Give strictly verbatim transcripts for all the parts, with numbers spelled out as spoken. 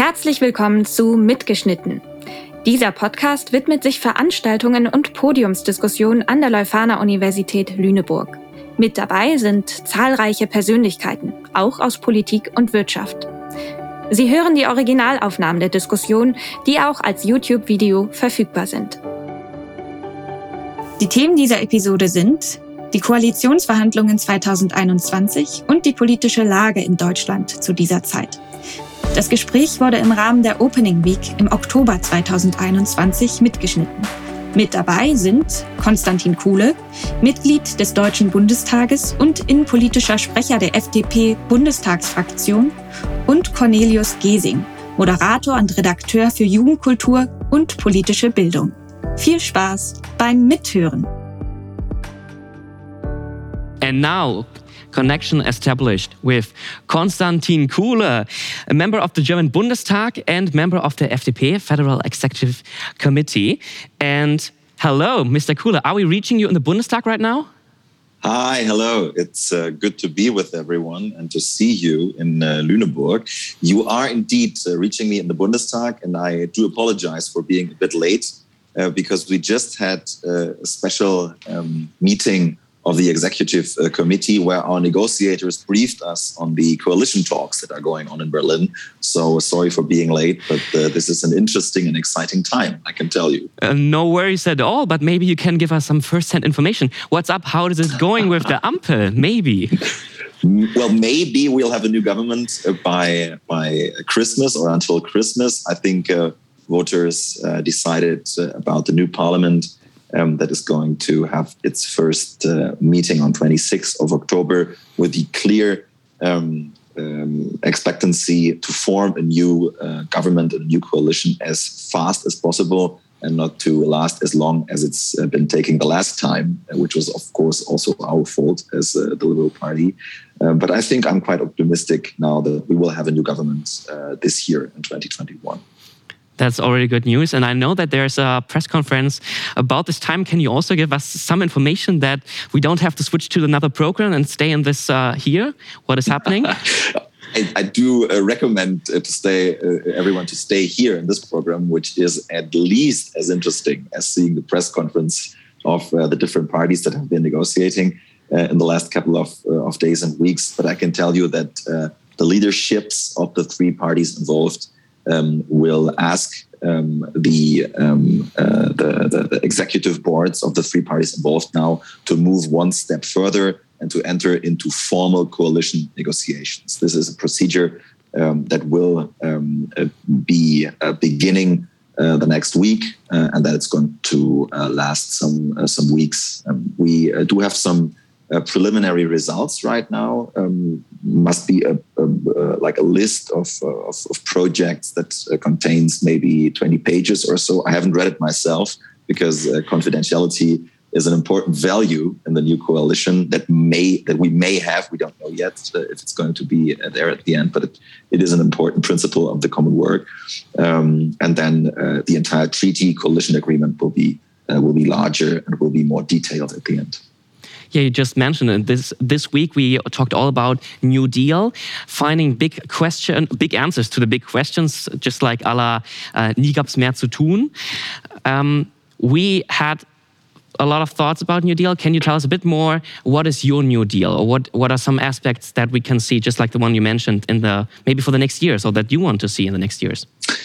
Herzlich willkommen zu Mitgeschnitten. Dieser Podcast widmet sich Veranstaltungen und Podiumsdiskussionen an der Leuphana-Universität Lüneburg. Mit dabei sind zahlreiche Persönlichkeiten, auch aus Politik und Wirtschaft. Sie hören die Originalaufnahmen der Diskussion, die auch als YouTube-Video verfügbar sind. Die Themen dieser Episode sind die Koalitionsverhandlungen zweitausendeinundzwanzig und die politische Lage in Deutschland zu dieser Zeit. Das Gespräch wurde im Rahmen der Opening Week im Oktober zweitausendeinundzwanzig mitgeschnitten. Mit dabei sind Konstantin Kuhle, Mitglied des Deutschen Bundestages und innenpolitischer Sprecher der F D P-Bundestagsfraktion, und Cornelius Gesing, Moderator und Redakteur für Jugendkultur und politische Bildung. Viel Spaß beim Mithören. And now, connection established with Konstantin Kuhle, a member of the German Bundestag and member of the F D P, Federal Executive Committee. And hello, Mister Kuhle, are we reaching you in the Bundestag right now? Hi, hello. It's uh, good to be with everyone and to see you in uh, Lüneburg. You are indeed uh, reaching me in the Bundestag, and I do apologize for being a bit late uh, because we just had uh, a special um, meeting of the Executive uh, Committee where our negotiators briefed us on the coalition talks that are going on in Berlin. So sorry for being late, but uh, this is an interesting and exciting time, I can tell you. Uh, no worries at all, but maybe you can give us some first-hand information. What's up? How is it going with the Ampel? Maybe. Well, maybe we'll have a new government uh, by, by Christmas or until Christmas. I think uh, voters uh, decided uh, about the new parliament Um, that is going to have its first uh, meeting on twenty-sixth of October with the clear um, um, expectancy to form a new uh, government and a new coalition as fast as possible and not to last as long as it's uh, been taking the last time, which was, of course, also our fault as uh, the Liberal Party. Uh, but I think I'm quite optimistic now that we will have a new government uh, this year in twenty twenty-one. That's already good news. And I know that there's a press conference about this time. Can you also give us some information that we don't have to switch to another program and stay in this uh, here? What is happening? I, I do uh, recommend uh, to stay uh, everyone to stay here in this program, which is at least as interesting as seeing the press conference of uh, the different parties that have been negotiating uh, in the last couple of, uh, of days and weeks. But I can tell you that uh, the leaderships of the three parties involved Um, will ask um, the, um, uh, the, the, the executive boards of the three parties involved now to move one step further and to enter into formal coalition negotiations. This is a procedure um, that will um, uh, be uh, beginning uh, the next week uh, and that it's going to uh, last some uh, some weeks. Um, we uh, do have some Uh, preliminary results right now. Um, must be a, a, a like a list of, uh, of, of projects that uh, contains maybe twenty pages or so. I haven't read it myself because uh, confidentiality is an important value in the new coalition that may that we may have. We don't know yet uh, if it's going to be uh, there at the end, but it, it is an important principle of the common work. Um, and then uh, the entire treaty coalition agreement will be uh, will be larger and will be more detailed at the end. Yeah, you just mentioned it. This this week we talked all about New Deal, finding big question, big answers to the big questions, just like à la uh, nie gab's mehr zu tun. Um, we had a lot of thoughts about New Deal. Can you tell us a bit more? What is your New Deal, or what what are some aspects that we can see, just like the one you mentioned in the maybe for the next years, or that you want to see in the next years?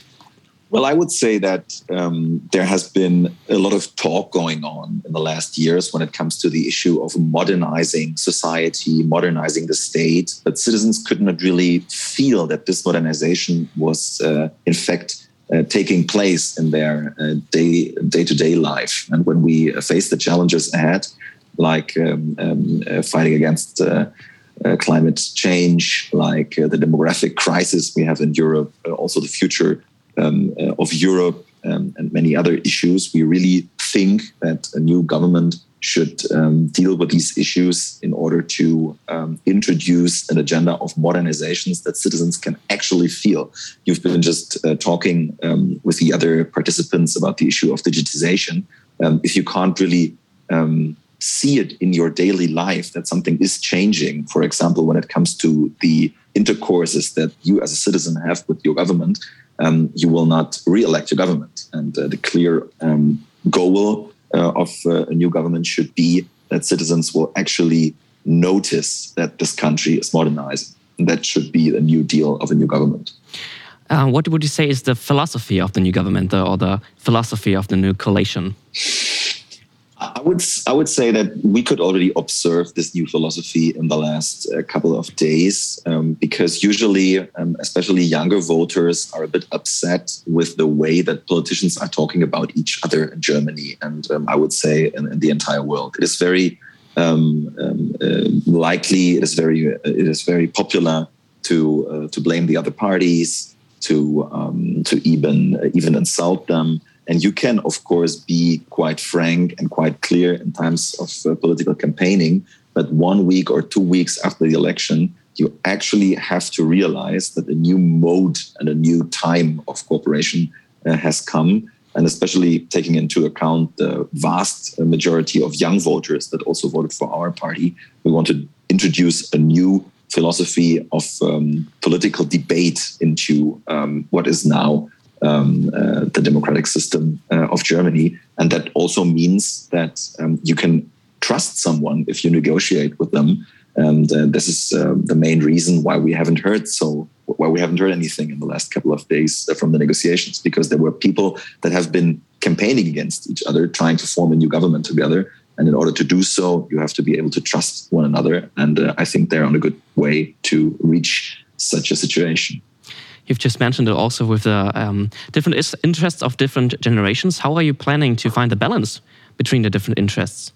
Well, I would say that um, there has been a lot of talk going on in the last years when it comes to the issue of modernizing society, modernizing the state. But citizens could not really feel that this modernization was, uh, in fact, uh, taking place in their uh, day, day-to-day life. And when we face the challenges ahead, like um, um, uh, fighting against uh, uh, climate change, like uh, the demographic crisis we have in Europe, uh, also the future Um, uh, of Europe um, and many other issues, we really think that a new government should um, deal with these issues in order to um, introduce an agenda of modernizations that citizens can actually feel. You've been just uh, talking um, with the other participants about the issue of digitization. Um, if you can't really um, see it in your daily life, that something is changing, for example, when it comes to the intercourses that you as a citizen have with your government, um, you will not re-elect your government. And uh, the clear um, goal uh, of uh, a new government should be that citizens will actually notice that this country is modernizing. And that should be the new deal of a new government. Uh, what would you say is the philosophy of the new government, or the philosophy of the new coalition? I would I would say that we could already observe this new philosophy in the last uh, couple of days, um, because usually, um, especially younger voters, are a bit upset with the way that politicians are talking about each other in Germany, and um, I would say in, in the entire world. It is very um, um, uh, likely. It is very uh, it is very popular to uh, to blame the other parties, to um, to even uh, even insult them. And you can, of course, be quite frank and quite clear in times of uh, political campaigning. But one week or two weeks after the election, you actually have to realize that a new mode and a new time of cooperation uh, has come. And especially taking into account the vast majority of young voters that also voted for our party, we want to introduce a new philosophy of um, political debate into um, what is now Um, uh, the democratic system uh, of Germany. And that also means that um, you can trust someone if you negotiate with them. And uh, this is uh, the main reason why we haven't heard so why we haven't heard anything in the last couple of days from the negotiations, because there were people that have been campaigning against each other, trying to form a new government together. And in order to do so, you have to be able to trust one another. And uh, I think they're on a good way to reach such a situation. You've just mentioned it also with the um, different is- interests of different generations. How are you planning to find the balance between the different interests?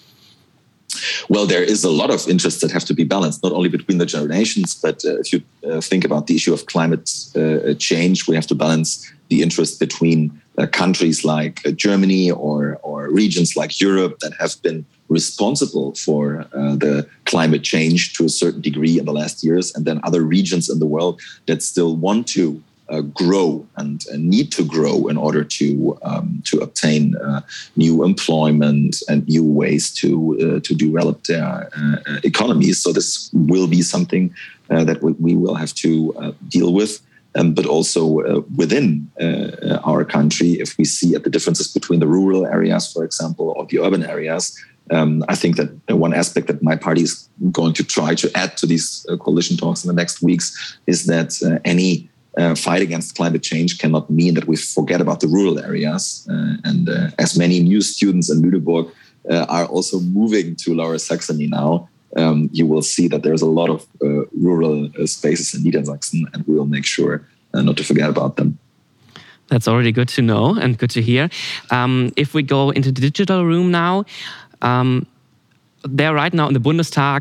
Well, there is a lot of interests that have to be balanced, not only between the generations, but uh, if you uh, think about the issue of climate uh, change, we have to balance the interest between uh, countries like uh, Germany or, or regions like Europe that have been responsible for uh, the climate change to a certain degree in the last years, and then other regions in the world that still want to uh, grow and, and need to grow in order to um, to obtain uh, new employment and new ways to uh, to develop their uh, economies. So this will be something uh, that we, we will have to uh, deal with. Um, but also uh, within uh, our country, if we see at the differences between the rural areas, for example, or the urban areas, um, I think that one aspect that my party is going to try to add to these uh, coalition talks in the next weeks is that uh, any uh, fight against climate change cannot mean that we forget about the rural areas. Uh, and uh, as many new students in Lüneburg uh, are also moving to Lower Saxony now, Um, you will see that there's a lot of uh, rural uh, spaces in Niedersachsen, and we will make sure uh, not to forget about them. That's already good to know and good to hear. Um, if we go into the digital room now, um, there right now in the Bundestag,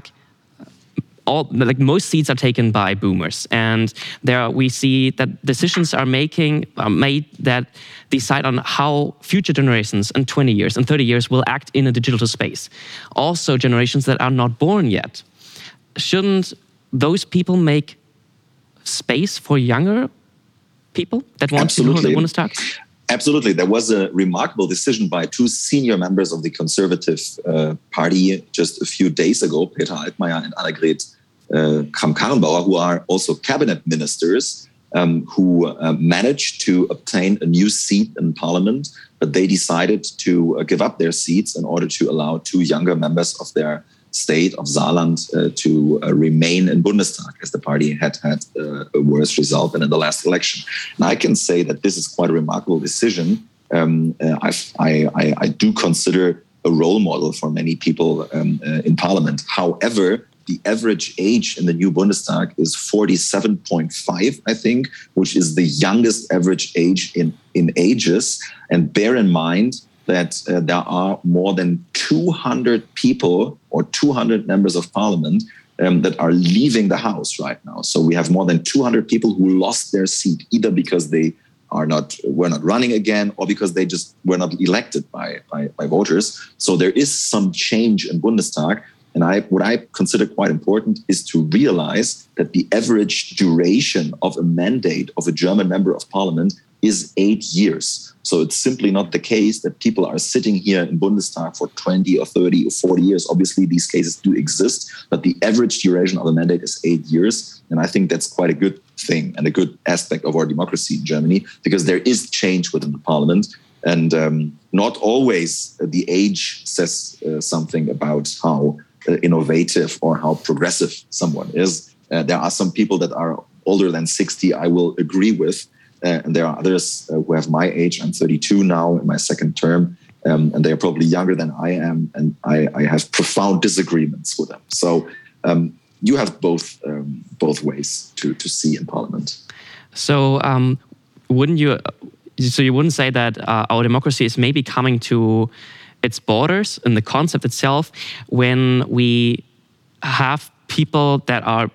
all like most seats are taken by boomers, and there we see that decisions are making are made that decide on how future generations in twenty years and thirty years will act in a digital space. Also, generations that are not born yet. Shouldn't those people make space for younger people that want Absolutely. to go to the Bundestag? Absolutely. There was a remarkable decision by two senior members of the Conservative uh, Party just a few days ago, Peter Altmaier and Annegret uh, Kramp-Karrenbauer, who are also cabinet ministers, um, who uh, managed to obtain a new seat in parliament, but they decided to uh, give up their seats in order to allow two younger members of their state of Saarland uh, to uh, remain in Bundestag, as the party had had uh, a worse result than in the last election. And I can say that this is quite a remarkable decision. Um, uh, I, I, I do consider a role model for many people um, uh, in parliament. However, the average age in the new Bundestag is forty-seven point five, I think, which is the youngest average age in, in ages. And bear in mind that uh, there are more than two hundred people or two hundred members of parliament um, that are leaving the House right now. So we have more than two hundred people who lost their seat, either because they are not were not running again or because they just were not elected by, by, by voters. So there is some change in Bundestag. And I, what I consider quite important is to realize that the average duration of a mandate of a German member of parliament is eight years. So it's simply not the case that people are sitting here in Bundestag for twenty or thirty or forty years. Obviously, these cases do exist, but the average duration of a mandate is eight years. And I think that's quite a good thing and a good aspect of our democracy in Germany, because there is change within the parliament. And um, not always the age says uh, something about how uh, innovative or how progressive someone is. Uh, there are some people that are older than sixty, I will agree with. Uh, and there are others uh, who have my age. I'm thirty-two now in my second term. Um, and they are probably younger than I am. And I, I have profound disagreements with them. So um, you have both um, both ways to, to see in Parliament. So um, wouldn't you... So you wouldn't say that uh, our democracy is maybe coming to its borders in the concept itself when we have people that are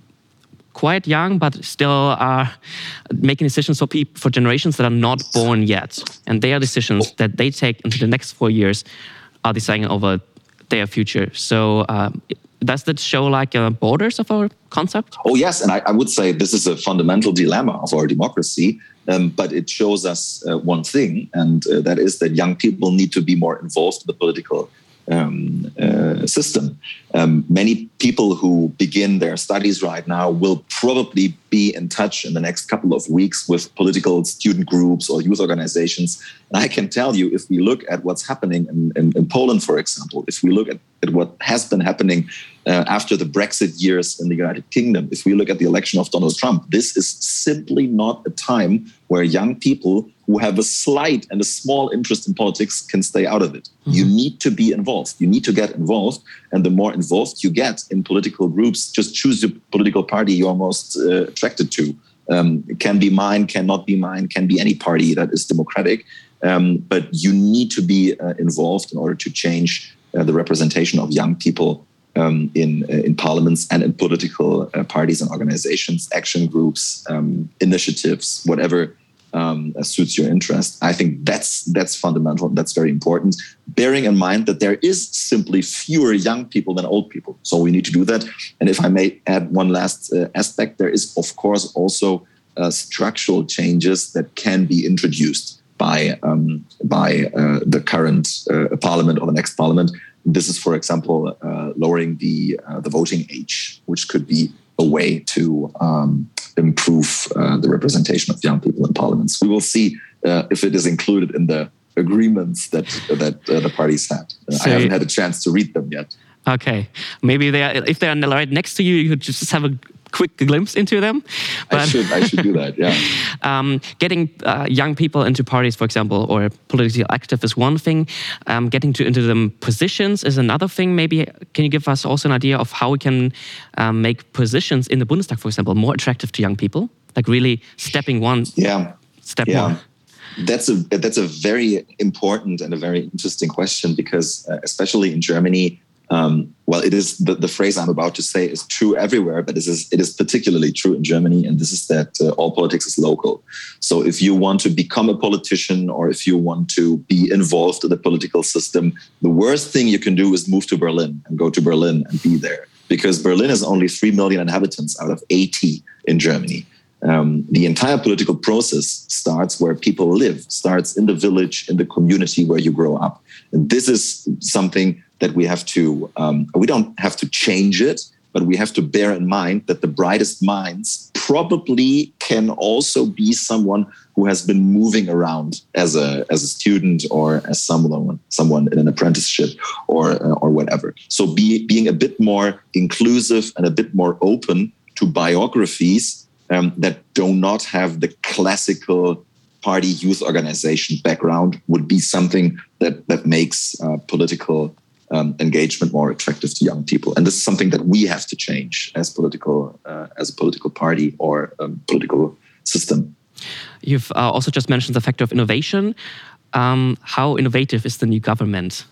quite young but still are making decisions for people, for generations that are not born yet, and their decisions that they take into the next four years are deciding over their future. So uh, does that show like uh, borders of our concept? Oh yes, and I, I would say this is a fundamental dilemma of our democracy. Um, but it shows us uh, one thing, and uh, that is that young people need to be more involved in the political um, uh, system. Um, many people who begin their studies right now will probably be in touch in the next couple of weeks with political student groups or youth organizations. And I can tell you, if we look at what's happening in, in, in Poland, for example, if we look at, at what has been happening uh, after the Brexit years in the United Kingdom, if we look at the election of Donald Trump, this is simply not a time where young people who have a slight and a small interest in politics can stay out of it. Mm-hmm. You need to be involved. You need to get involved. And the more involved you get in political groups, just choose the political party you're most uh, attracted to. Um, it can be mine, cannot be mine, can be any party that is democratic. Um, but you need to be uh, involved in order to change uh, the representation of young people um, in uh, in parliaments and in political uh, parties and organizations, action groups, um, initiatives, whatever um, uh, suits your interest. I think that's that's fundamental. That's very important. Bearing in mind that there is simply fewer young people than old people, so we need to do that. And if I may add one last uh, aspect, there is of course also uh, structural changes that can be introduced by um, by uh, the current uh, parliament or the next parliament. This is, for example, uh, lowering the uh, the voting age, which could be a way to um, improve uh, the representation of young people in parliaments. We will see uh, if it is included in the agreements that that uh, the parties had. Uh, so I haven't had a chance to read them yet. Okay, maybe they are, if they are right next to you, you could just have a quick glimpse into them. But I should, I should do that, yeah. um, getting uh, young people into parties, for example, or politically active is one thing. Um, getting to into them positions is another thing. Maybe can you give us also an idea of how we can um, make positions in the Bundestag, for example, more attractive to young people? Like really stepping one yeah. step yeah. more. That's a that's a very important and a very interesting question because uh, especially in Germany, Um, well, it is the, the phrase I'm about to say is true everywhere, but it is, it is particularly true in Germany. And this is that uh, all politics is local. So if you want to become a politician or if you want to be involved in the political system, the worst thing you can do is move to Berlin and go to Berlin and be there. Because Berlin is only three million inhabitants out of eighty in Germany. Um, the entire political process starts where people live, starts in the village, in the community where you grow up. And this is something that we have to, um, we don't have to change it, but we have to bear in mind that the brightest minds probably can also be someone who has been moving around as a as a student or as someone someone in an apprenticeship or uh, or whatever. So be, being a bit more inclusive and a bit more open to biographies um, that do not have the classical party youth organization background would be something that that makes uh, political Um, engagement more attractive to young people, and this is something that we have to change as political uh, as a political party or um, political system. You've uh, also just mentioned the factor of innovation. Um, how innovative is the new government?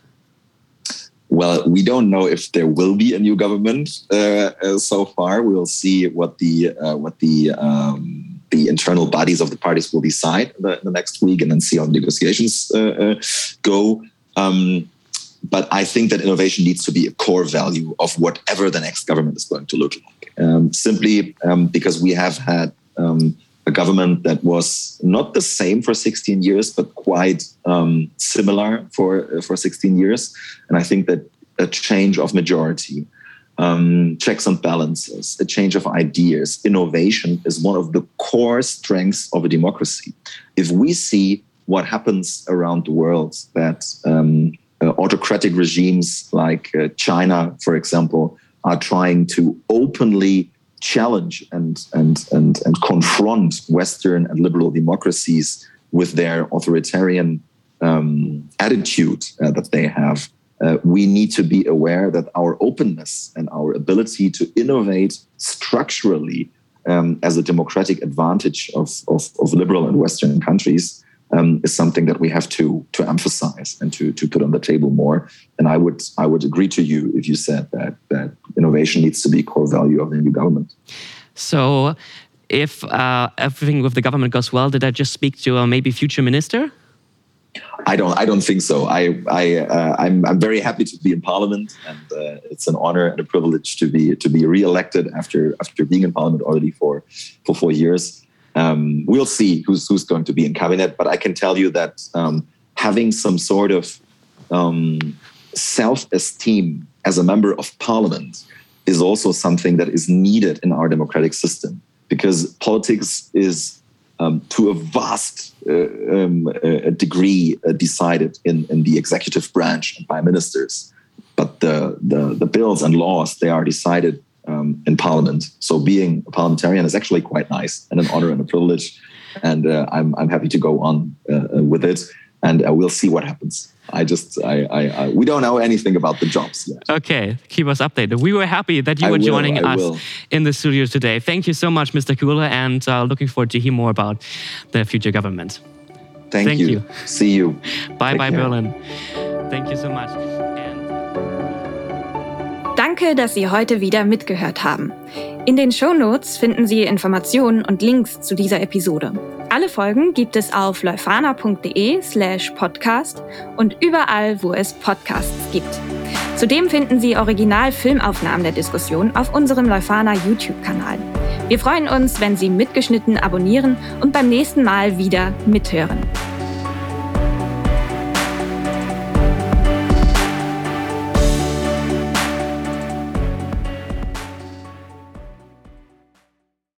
Well, we don't know if there will be a new government uh, uh, so far. We'll see what the uh, what the um, the internal bodies of the parties will decide in the, in the next week, and then see how the negotiations uh, uh, go. Um, But I think that innovation needs to be a core value of whatever the next government is going to look like. Um, simply um, because we have had um, a government that was not the same for sixteen years, but quite um, similar for uh, for sixteen years. And I think that a change of majority, um, checks and balances, a change of ideas, innovation is one of the core strengths of a democracy. If we see what happens around the world, that um, uh, autocratic regimes like uh, China, for example, are trying to openly challenge and, and, and, and confront Western and liberal democracies with their authoritarian um, attitude uh, that they have, uh, we need to be aware that our openness and our ability to innovate structurally um, as a democratic advantage of, of, of liberal and Western countries um, is something that we have to, to emphasize and to, to put on the table more. And I would I would agree to you if you said that that innovation needs to be a core value of the new government. So if uh, everything with the government goes well, did I just speak to a maybe future minister? I don't. I don't think so. I. I. Uh, I'm. I'm very happy to be in Parliament, and uh, it's an honor and a privilege to be to be re-elected after after being in Parliament already for for four years. Um, we'll see who's who's going to be in cabinet, but I can tell you that um, having some sort of um, self-esteem as a member of Parliament is also something that is needed in our democratic system, because politics is Um, to a vast uh, um, uh, degree uh, decided in, in the executive branch and by ministers. But the, the, the bills and laws, they are decided um, in Parliament. So being a parliamentarian is actually quite nice and an honor and a privilege. And uh, I'm, I'm happy to go on uh, with it. And uh, we'll see what happens. I just, I, I, I, we don't know anything about the jobs yet. Okay, keep us updated. We were happy that you I were will, joining I us will. in the studio today. Thank you so much, Mister Kuhle, and uh, looking forward to hear more about the future government. Thank, Thank you. you. See you. Bye, Take bye, care. Berlin. Thank you so much. And Danke, dass Sie heute wieder mitgehört haben. In den Shownotes finden Sie Informationen und Links zu dieser Episode. Alle Folgen gibt es auf leuphana.de slash podcast und überall, wo es Podcasts gibt. Zudem finden Sie Original-Filmaufnahmen der Diskussion auf unserem Leuphana YouTube-Kanal. Wir freuen uns, wenn Sie mitgeschnitten abonnieren und beim nächsten Mal wieder mithören.